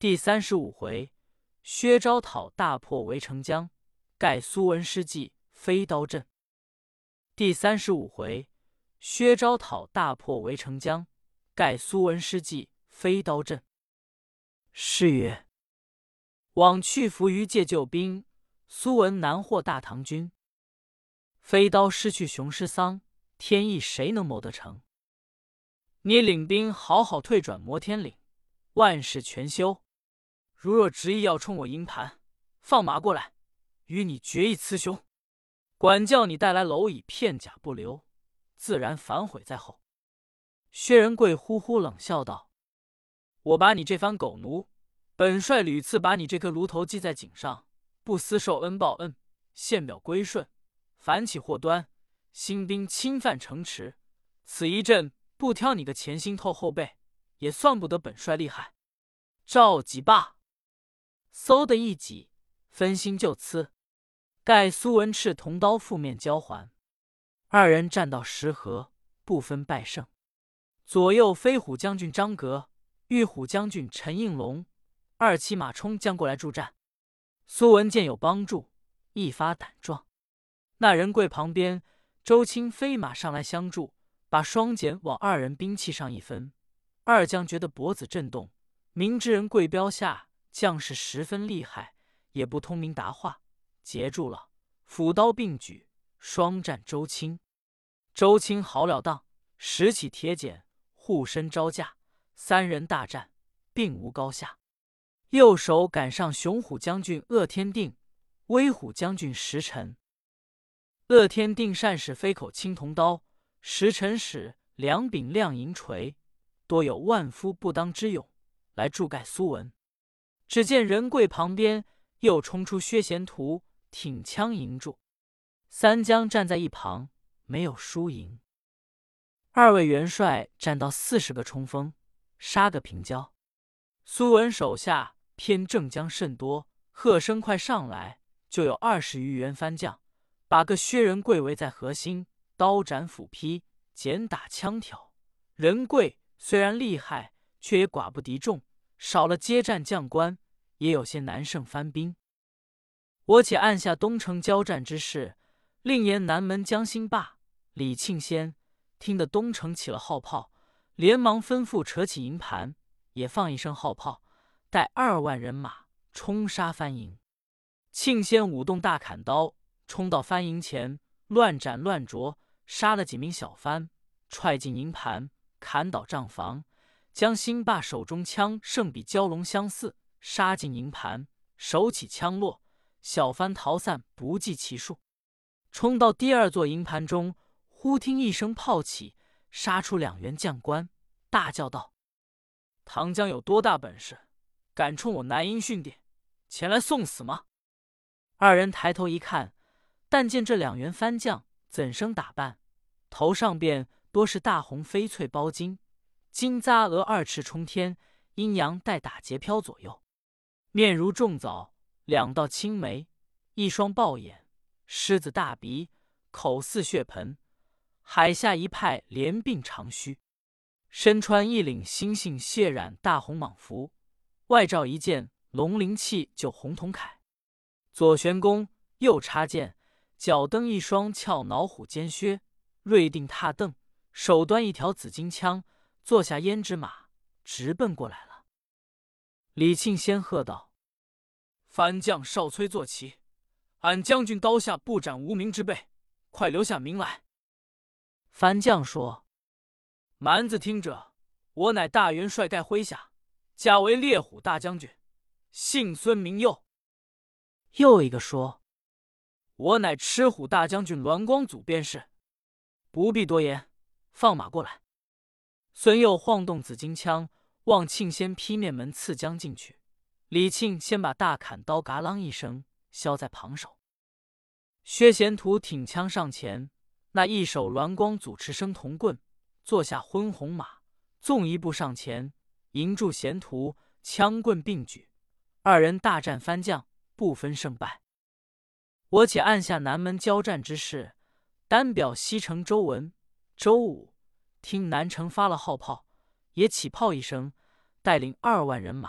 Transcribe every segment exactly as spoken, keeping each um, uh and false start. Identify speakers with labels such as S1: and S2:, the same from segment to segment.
S1: 第三十五回，薛昭讨大破围城江，盖苏文失计飞刀阵。第三十五回，薛昭讨大破围城江，盖苏文失计飞刀阵。诗曰：往去伏于借救兵，苏文难获大唐军。飞刀失去雄狮桑，天意谁能谋得成？你领兵好好退转摩天岭，万事全休。如若执意要冲我营盘，放马过来，与你决一雌雄。管教你带来蝼蚁，片甲不留，自然反悔在后。薛仁贵呼呼冷笑道：我把你这番狗奴，本帅屡次把你这颗炉头系在颈上，不思受恩报恩，献表归顺，反起祸端，兴兵侵犯城池，此一阵不挑你个前心透后背，也算不得本帅厉害。召集罢，嗖的一挤，分心就刺。盖苏文赤同刀负面交还，二人战到十合，不分败胜。左右飞虎将军张格、玉虎将军陈应龙二骑马冲将过来助战。苏文见有帮助，一发胆壮。那仁贵旁边，周青飞马上来相助，把双锏往二人兵器上一分。二将觉得脖子震动，明知仁贵标下将士十分厉害，也不通明答话，截住了，斧刀并举，双战周青。周青好了当，拾起铁锏，护身招架，三人大战，并无高下。右手赶上雄虎将军鄂天定、威虎将军石沉。鄂天定善使飞口青铜刀，石沉使两柄亮银锤，多有万夫不当之勇，来助盖苏文。只见仁贵旁边又冲出薛贤图，挺枪迎住。三将站在一旁，没有输赢。二位元帅战到四十个冲锋，杀个平交。苏文手下偏正将甚多，喝声快上来，就有二十余员番将，把个薛仁贵围在核心，刀斩斧劈，剪打枪挑。仁贵虽然厉害，却也寡不敌众，少了接战将官，也有些难胜番兵。我且按下东城交战之事，另言南门将兴霸、李庆先听得东城起了号炮，连忙吩咐扯起营盘，也放一声号炮，带二万人马冲杀番营。庆先舞动大砍刀，冲到番营前，乱斩乱啄，杀了几名小番，踹进营盘，砍倒帐房。将兴霸手中枪胜比蛟龙相似，杀进营盘，手起枪落，小番逃散不计其数。冲到第二座营盘中，忽听一声炮起，杀出两员将官，大叫道：唐将有多大本事，敢冲我南营训点，前来送死吗？二人抬头一看，但见这两员番将怎生打扮，头上便多是大红翡翠包巾，金扎额二翅冲天，阴阳带打结飘左右，面如重枣，两道青眉，一双豹眼，狮子大鼻，口似血盆，海下一派连鬓长须，身穿一领猩猩血染大红蟒服，外罩一件龙鳞器就红铜铠，左悬弓，右插剑，脚蹬一双翘脑虎尖靴，锐定踏蹬，手端一条紫金枪，坐下胭脂马，直奔过来了。李庆先喝道：番将少崔坐骑，俺将军刀下不斩无名之辈，快留下名来。番将说：蛮子听者，我乃大元帅盖麾下，家为烈虎大将军，姓孙名佑。又一个说：我乃赤虎大将军栾光祖便是。不必多言，放马过来。孙佑晃动紫金枪，望庆先劈面门刺将进去。李庆先把大砍刀嘎啷一声削在旁手。薛贤图挺枪上前，那一手栾光祖持生铜棍，坐下昏红马，纵一步上前，迎住贤图，枪棍并举，二人大战番将，不分胜败。我且按下南门交战之事，单表西城周文、周武听南城发了号炮，也起炮一声，带领二万人马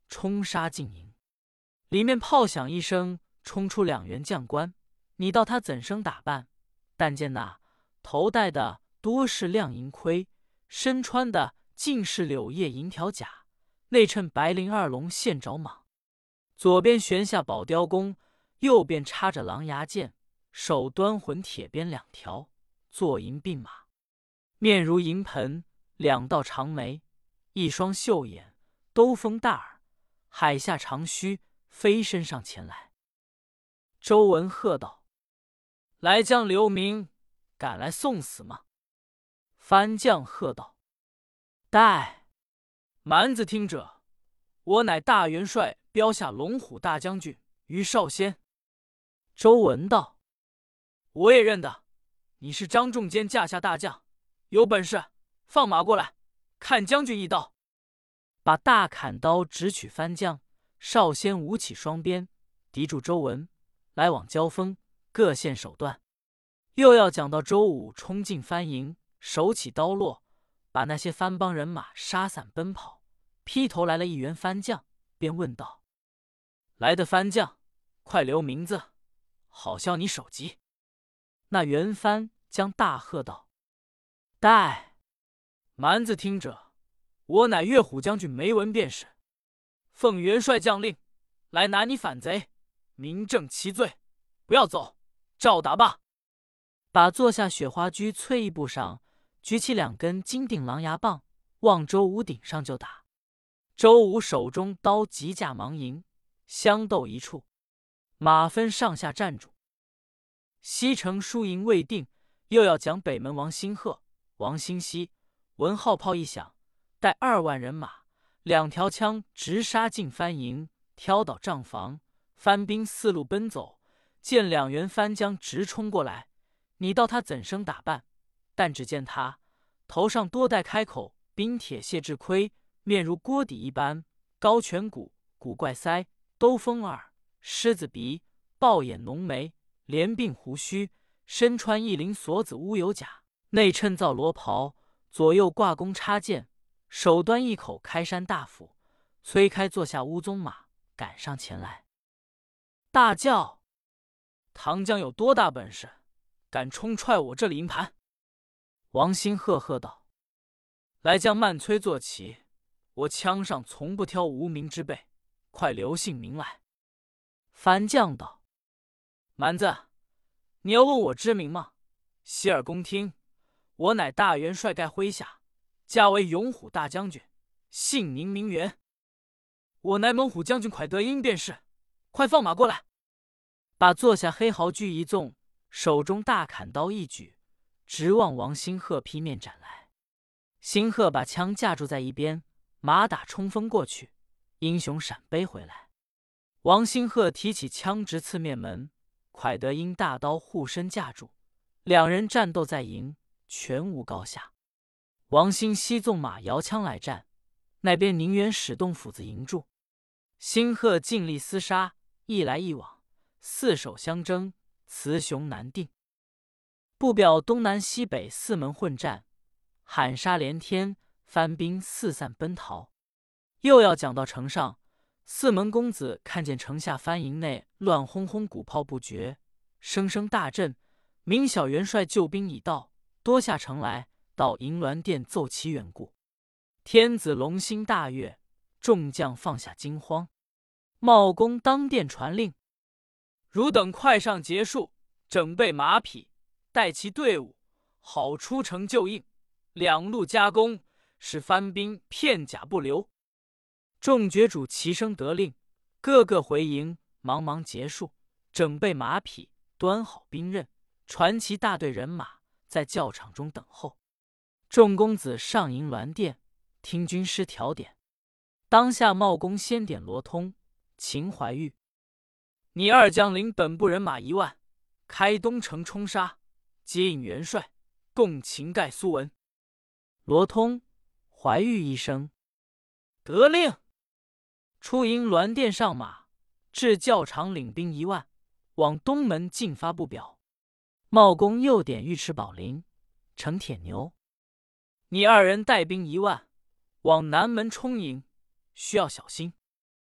S1: 冲杀进营。里面炮响一声，冲出两员将官。你道他怎生打扮？但见那头戴的多是亮银盔，身穿的尽是柳叶银条甲，内衬白绫二龙线爪蟒，左边悬下宝雕弓，右边插着狼牙剑，手端混铁鞭两条，坐银鬓马，面如银盆，两道长眉，一双秀眼，兜风大耳，海下长须，飞身上前来。周文喝道：“来将刘明赶来送死吗？”番将喝道：“待蛮子听者，我乃大元帅标下龙虎大将军于少先。”周文道：“我也认得，你是张仲坚驾下大将，有本事放马过来，看将军一刀。”把大砍刀直取番将，少先舞起双鞭，敌住周文，来往交锋，各现手段。又要讲到周武冲进番营，手起刀落，把那些番帮人马杀散奔跑，劈头来了一员番将，便问道：“来的番将，快留名字，好消你首级。”那员番将大喝道：“待蛮子听者，我乃岳虎将军梅文便是，奉元帅将令，来拿你反贼，明正其罪，不要走，照打罢。”把坐下雪花居翠衣布上，举起两根金锭狼牙棒，往周武顶上就打。周武手中刀急架忙迎，相斗一处，马分上下站住。西城输赢未定，又要讲北门王兴鹤、王兴熙，闻号炮一响，带二万人马，两条枪直杀进番营，挑倒帐房，番兵四路奔走，见两员番将直冲过来。你道他怎生打扮？但只见他头上多戴开口冰铁蟹质盔，面如锅底一般，高颧骨，古怪腮，兜风耳，狮子鼻，豹眼浓眉，连鬓胡须，身穿一绫锁子乌油甲，内衬皂罗袍，左右挂弓插箭，手端一口开山大斧，催开坐下乌鬃马，赶上前来，大叫：“唐将有多大本事，敢冲踹我这里营盘？”王兴赫喝道：“来将慢催坐起，我枪上从不挑无名之辈，快留姓名来。”番将道：“蛮子，你要问我知名吗？洗耳恭听，我乃大元帅盖麾下，家为勇虎大将军，姓宁名元。我乃猛虎将军蒯德英便是，快放马过来！”把坐下黑毫驹一纵，手中大砍刀一举，直往王兴鹤劈面斩来。兴鹤把枪架住在一边，马打冲锋过去，英雄闪背回来。王兴鹤提起枪直刺面门，蒯德英大刀护身架住，两人战斗在营，全无高下。王兴熙纵马摇枪来战，那边宁远使动斧子迎住，兴鹤尽力厮杀，一来一往，四手相争，雌雄难定。不表东南西北四门混战，喊杀连天，番兵四散奔逃。又要讲到城上，四门公子看见城下番营内乱哄哄，鼓炮不绝，声声大震，明晓元帅救兵已到，多下城来，到银銮殿奏其缘故。天子龙心大悦，众将放下惊慌。茂公当殿传令：汝等快上结束，整备马匹，带其队伍，好出城救应，两路夹攻，使番兵片甲不留。众爵主齐声得令，个个回营，忙忙结束，整备马匹，端好兵刃，传其大队人马，在教场中等候。众公子上营銮殿，听军师调点。当下茂公先点罗通、秦怀玉：你二将领本部人马一万，开东城冲杀，接应元帅，共擒盖苏文。罗通、怀玉一声得令，出营銮殿上马，至教场领兵一万，往东门进发不表。茂公又点尉迟宝林、程铁牛：你二人带兵一万，往南门冲营，需要小心。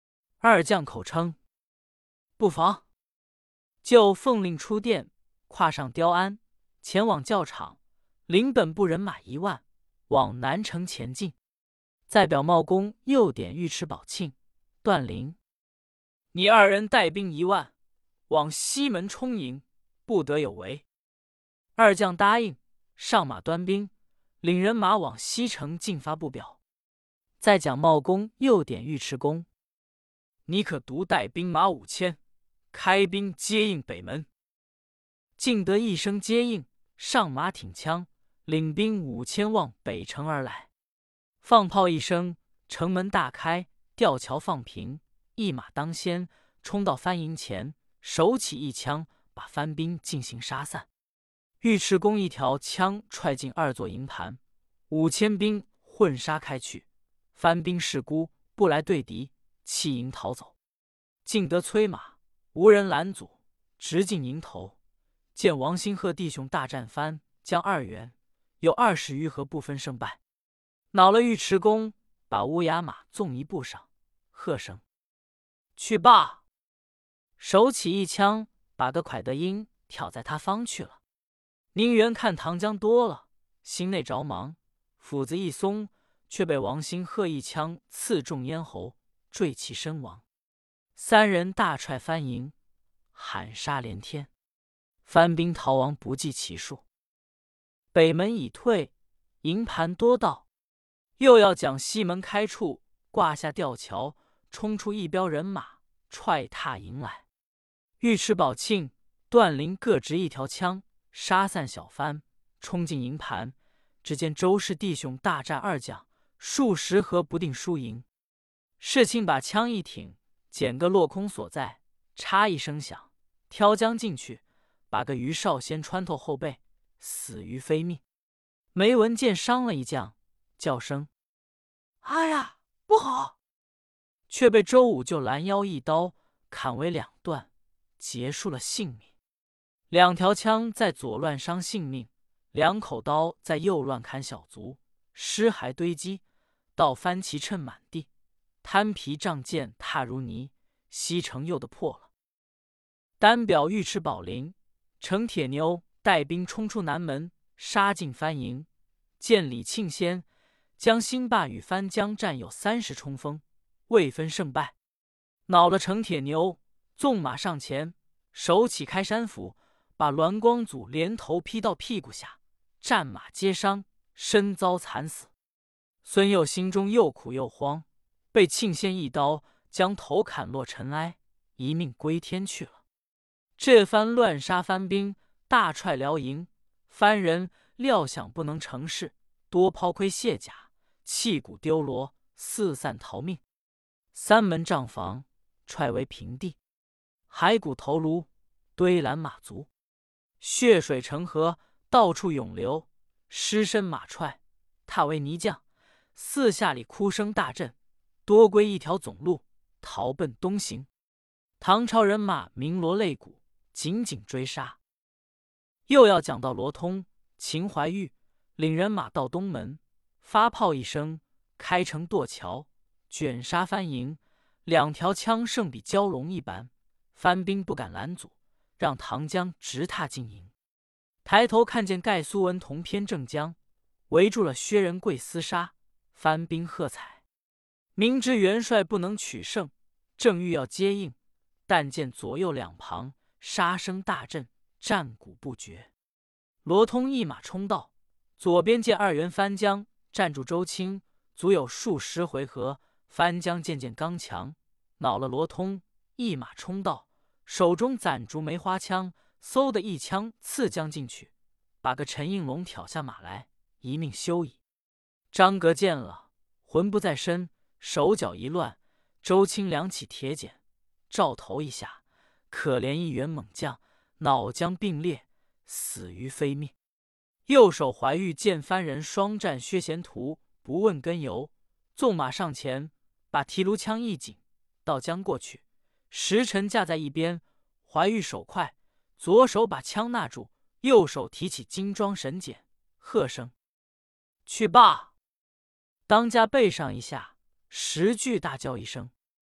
S1: 二将口称不妨，就奉令出殿，跨上雕鞍，前往教场，领本部人马一万，往南城前进。再表茂公又点尉迟宝庆、段陵，你二人带兵一万，往西门冲营，不得有违。二将答应，上马端兵，领人马往西城进发不表。再讲茂公又点尉迟恭，你可独带兵马五千，开兵接应北门。敬德一声接应，上马挺枪，领兵五千往北城而来。放炮一声，城门大开，吊桥放平，一马当先，冲到番营前，手起一枪，把番兵进行杀散。尉迟恭一条枪踹进二座营盘，五千兵混杀开去。番兵势孤，不来对敌，弃营逃走。敬德催马，无人拦阻，直进营头。见王兴贺弟兄大战番将二员，有二十余合不分胜败。恼了尉迟恭，把乌鸦马纵一步上，喝声去罢，手起一枪，把个蒯德英挑在他方去了。宁远看唐江多了，心内着忙，斧子一松，却被王兴贺一枪刺中咽喉，坠其身亡。三人大踹番营，喊杀连天，番兵逃亡不计其数。北门已退，营盘多到，又要将西门开处，挂下吊桥，冲出一彪人马，踹踏营来。尉迟宝庆、段陵各执一条枪，杀散小番，冲进营盘。只见周氏弟兄大战二将，数十合不定输赢。世卿把枪一挺，捡个落空所在，嚓一声响，挑将进去，把个于少先穿透后背，死于非命。梅文见伤了一将，叫声哎呀不好，却被周武就拦腰一刀砍为两段，结束了性命。两条枪在左乱伤性命，两口刀在右乱砍小卒，尸骸堆积，到番旗趁满地，摊皮仗剑踏如泥，西城又得破了。单表尉迟宝林、程铁牛带兵冲出南门，杀进番营，见李庆先、将兴霸与番将战有三十冲锋，未分胜败。恼了程铁牛，纵马上前，手起开山斧，把栾光祖连头劈到屁股下，战马皆伤，身遭惨死。孙佑心中又苦又慌，被庆先一刀将头砍落尘埃，一命归天去了。这番乱杀番兵，大踹辽营，番人料想不能成事，多抛盔卸甲，弃骨丢罗，四散逃命。三门帐房踹为平地，骸骨头颅堆拦马足，血水成河，到处涌流，尸身马踹，踏为泥浆。四下里哭声大震，多归一条总路，逃奔东行。唐朝人马鸣锣擂鼓，紧紧追杀。又要讲到罗通、秦怀玉领人马到东门，发炮一声，开城堕桥，卷杀番营。两条枪胜比蛟龙一般，番兵不敢拦阻，让唐江直踏进营。抬头看见盖苏文同偏正将围住了薛仁贵厮杀，番兵喝彩。明知元帅不能取胜，正欲要接应，但见左右两旁杀声大震，战鼓不绝。罗通一马冲到，左边见二员番将站住周青，足有数十回合。番将渐渐刚强，恼了罗通，一马冲到，手中攒竹梅花枪，嗖的一枪刺将进去，把个陈应龙挑下马来，一命休矣。张格见了，魂不在身，手脚一乱。周青两起铁锏，照头一下，可怜一员猛将，脑浆并裂，死于非命。右手怀玉见番人双战薛贤图，不问根由，纵马上前，把提炉枪一紧，倒将过去。时辰架在一边，怀玉手快，左手把枪拿住，右手提起金装神锏，喝声去罢。当家背上一下，十句大叫一声，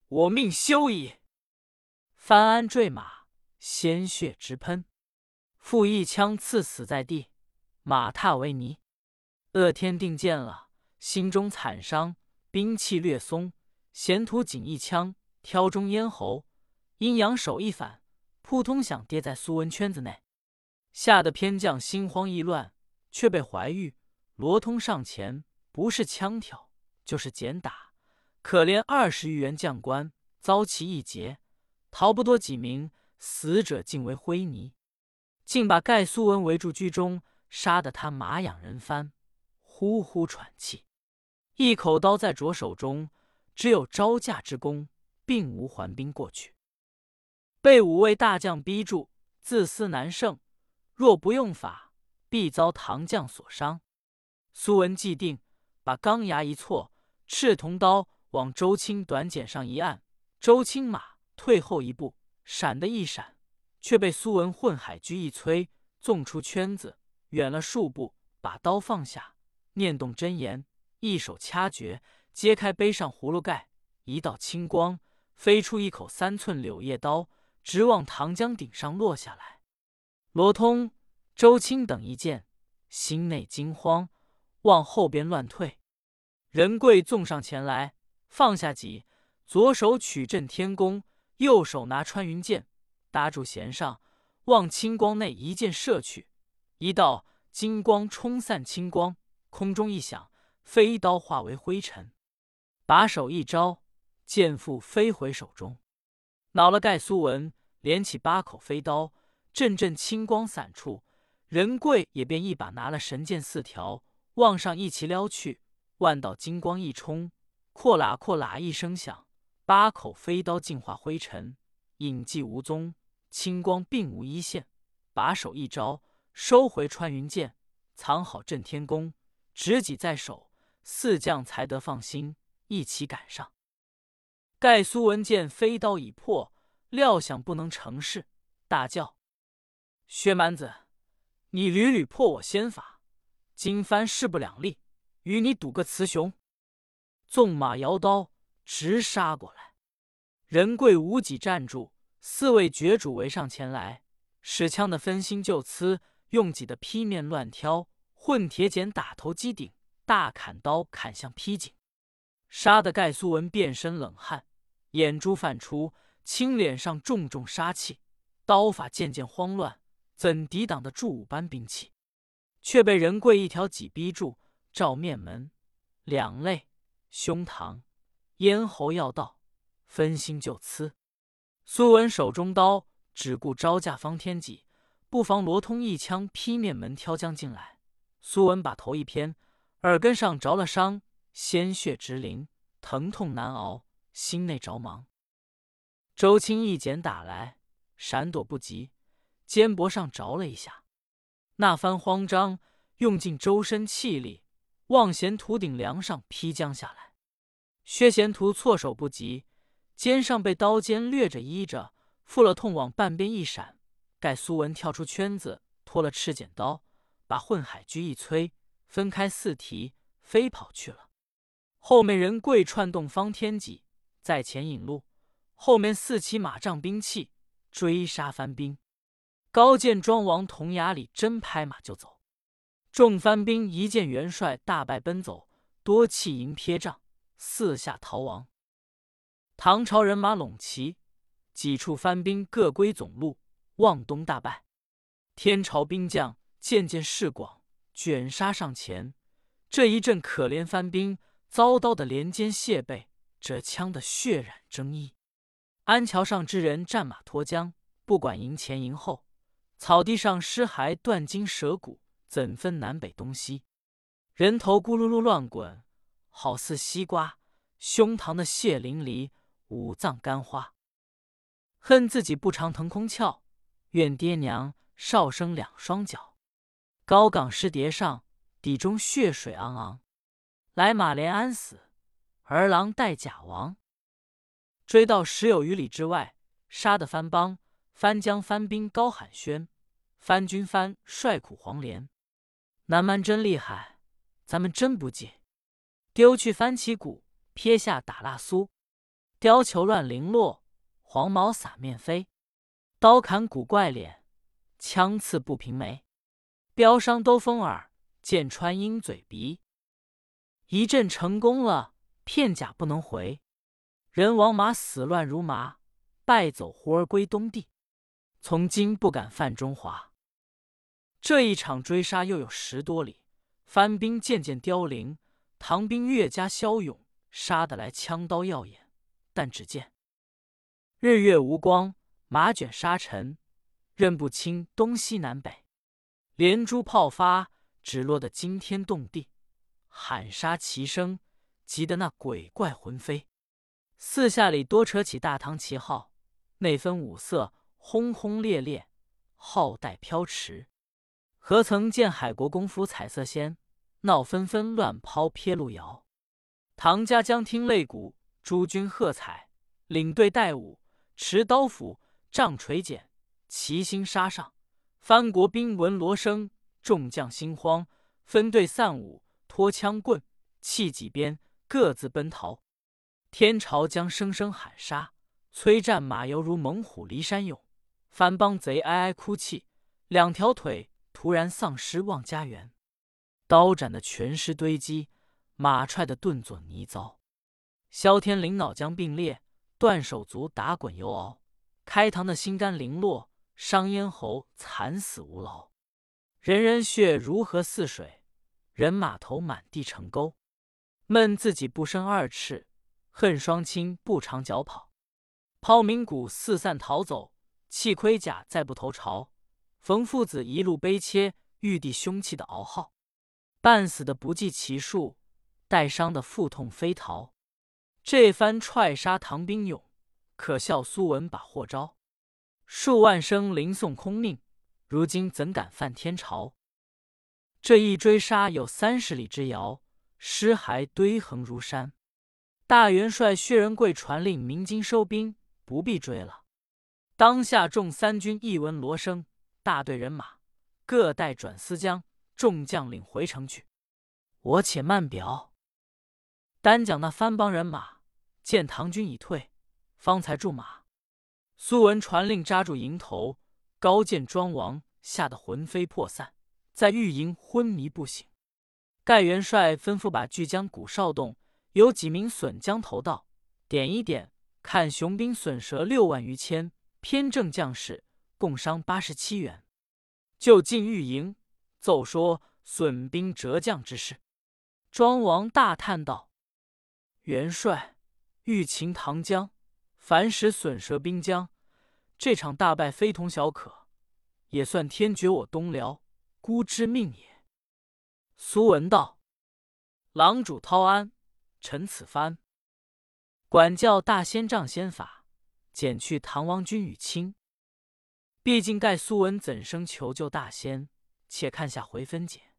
S1: 我命休矣！”翻鞍坠马，鲜血直喷，复一枪刺死在地，马踏为泥。鄂天定见了，心中惨伤，兵器略松，衔土仅一枪挑中咽喉，阴阳手一反，扑通响跌在苏文圈子内，吓得偏将心慌意乱，却被怀玉、罗通上前，不是枪挑，就是剪打，可怜二十余员将官遭其一劫，逃不多几名，死者尽为灰泥，竟把盖苏文围住居中，杀得他马仰人翻，呼呼喘气，一口刀在着手中，只有招架之功，并无还兵过去。被五位大将逼住，自私难胜，若不用法，必遭唐将所伤。苏文既定，把钢牙一错，赤铜刀往周青短锏上一按，周青马退后一步，闪的一闪，却被苏文混海狙一催，纵出圈子，远了数步，把刀放下，念动真言，一手掐诀，揭开杯上葫芦盖，一道青光飞出一口三寸柳叶刀，直往唐江顶上落下来。罗通、周青等一见，心内惊慌，往后边乱退。仁贵纵上前来，放下戟，左手取震天弓，右手拿穿云箭，搭住弦上，往青光内一箭射去。一道金光冲散青光，空中一响，飞刀化为灰尘。把手一招，剑腹飞回手中，恼了盖苏文，连起八口飞刀，阵阵青光散处。仁贵也便一把拿了神剑四条，往上一齐撩去，万道金光一冲，扩喇扩喇一声响，八口飞刀尽化灰尘，影迹无踪，青光并无一线。把手一招，收回穿云箭，藏好震天弓，执戟在手，四将才得放心，一起赶上。盖苏文见飞刀已破，料想不能成事，大叫：“薛蛮子，你屡屡破我仙法，今番势不两立，与你赌个雌雄！”纵马摇刀直杀过来。仁贵无戟站住，四位绝主围上前来，使枪的分心就刺，用戟的劈面乱挑，混铁锏打头击顶，大砍刀砍向劈颈，杀得盖苏文遍身冷汗，眼珠泛出，青脸上重重杀气，刀法渐渐慌乱，怎抵挡得住五般兵器？却被仁贵一条戟逼住，照面门、两肋、胸膛、咽喉要道，分心就刺。苏文手中刀只顾招架方天戟，不妨罗通一枪劈面门挑将进来。苏文把头一偏，耳根上着了伤，鲜血直淋，疼痛难熬，心内着忙。周青一剪打来，闪躲不及，肩膊上着了一下，那番慌张，用尽周身气力，往贤图顶梁上劈将下来。薛贤图措手不及，肩上被刀尖掠着依着，负了痛往半边一闪。盖苏文跳出圈子，脱了赤剪刀，把混海狙一催，分开四蹄，飞跑去了。后面仁贵串动方天戟，在前引路，后面四骑马仗兵器，追杀番兵。高见庄王铜牙里真拍马就走，众番兵一见元帅大败奔走，多弃营撇仗，四下逃亡。唐朝人马拢齐，几处番兵各归总路，望东大败。天朝兵将渐渐势广，卷杀上前。这一阵可怜番兵，遭刀的连肩卸背，折枪的血染征衣。安桥上之人战马脱缰，不管营前营后，草地上尸骸断筋折骨，怎分南北东西？人头咕噜噜乱滚，好似西瓜；胸膛的血淋漓，五脏干花。恨自己不常腾空翘，怨爹娘少生两双脚。高岗尸叠上，底中血水昂昂。来马连安死，儿郎带甲亡。追到十有余里之外，杀得番邦、番将、番兵高喊宣，番军番帅苦黄连。南蛮真厉害，咱们真不济。丢去番旗鼓，撇下打蜡苏。 貂裘乱绫落，黄毛洒面飞。刀砍古怪脸，枪刺不平眉。标伤兜风耳，剑穿鹰嘴鼻。一阵成功了，片甲不能回。人王马死乱如麻，败走胡儿归东地。从今不敢犯中华。这一场追杀又有十多里，番兵渐渐凋零，唐兵越加骁勇，杀得来枪刀耀眼。但只见日月无光，马卷沙尘，认不清东西南北。连珠炮发，只落得惊天动地，喊杀齐声，急得那鬼怪魂飞。四下里多扯起大唐旗号，内分五色，轰轰烈烈，号带飘驰。何曾见海国公府彩色仙，闹纷纷乱抛撇路摇。唐家将听擂鼓，诸军喝彩，领队带舞，持刀斧，仗锤锏，齐心杀上。藩国兵闻锣声，众将心慌，分队散舞，拖枪棍，弃戟鞭，各自奔逃。天朝将声声喊杀，催战马犹如猛虎离山涌。番邦贼哀哀哭泣，两条腿突然丧失望家园。刀斩的全尸堆积，马踹的顿作泥糟。萧天领脑浆并裂，断手足打滚游熬。开膛的心肝零落，伤咽喉惨死无劳。人人血如河似水，人马头满地成沟。闷自己不生二翅，恨双亲不长脚跑。抛名鼓四散逃走，弃盔甲再不投朝。冯父子一路悲切，玉帝凶气的熬号。半死的不计其数，带伤的腹痛飞逃。这番踹杀唐兵勇，可笑苏文把祸招。数万生灵送空命，如今怎敢犯天朝？这一追杀有三十里之遥，尸骸堆横如山。大元帅薛仁贵传令鸣金收兵，不必追了。当下众三军一闻锣声，大队人马各带转思江，众将领回城去。我且慢表。单讲那番邦人马见唐军已退，方才驻马。苏文传令扎住营头，高见庄王吓得魂飞魄散，在御营昏迷不醒。盖元帅吩咐把巨将鼓哨动，有几名损将头到，点一点，看雄兵损折六万余千，偏正将士共伤八十七员。就进御营，奏说损兵折将之事。庄王大叹道：“元帅，欲擒唐江，凡使损折兵将，这场大败非同小可，也算天绝我东辽孤之命也。”苏文道：“郎主滔安，臣此番管教大仙杖仙法，减去唐王军与卿。毕竟盖苏文怎生求救大仙？且看下回分解。”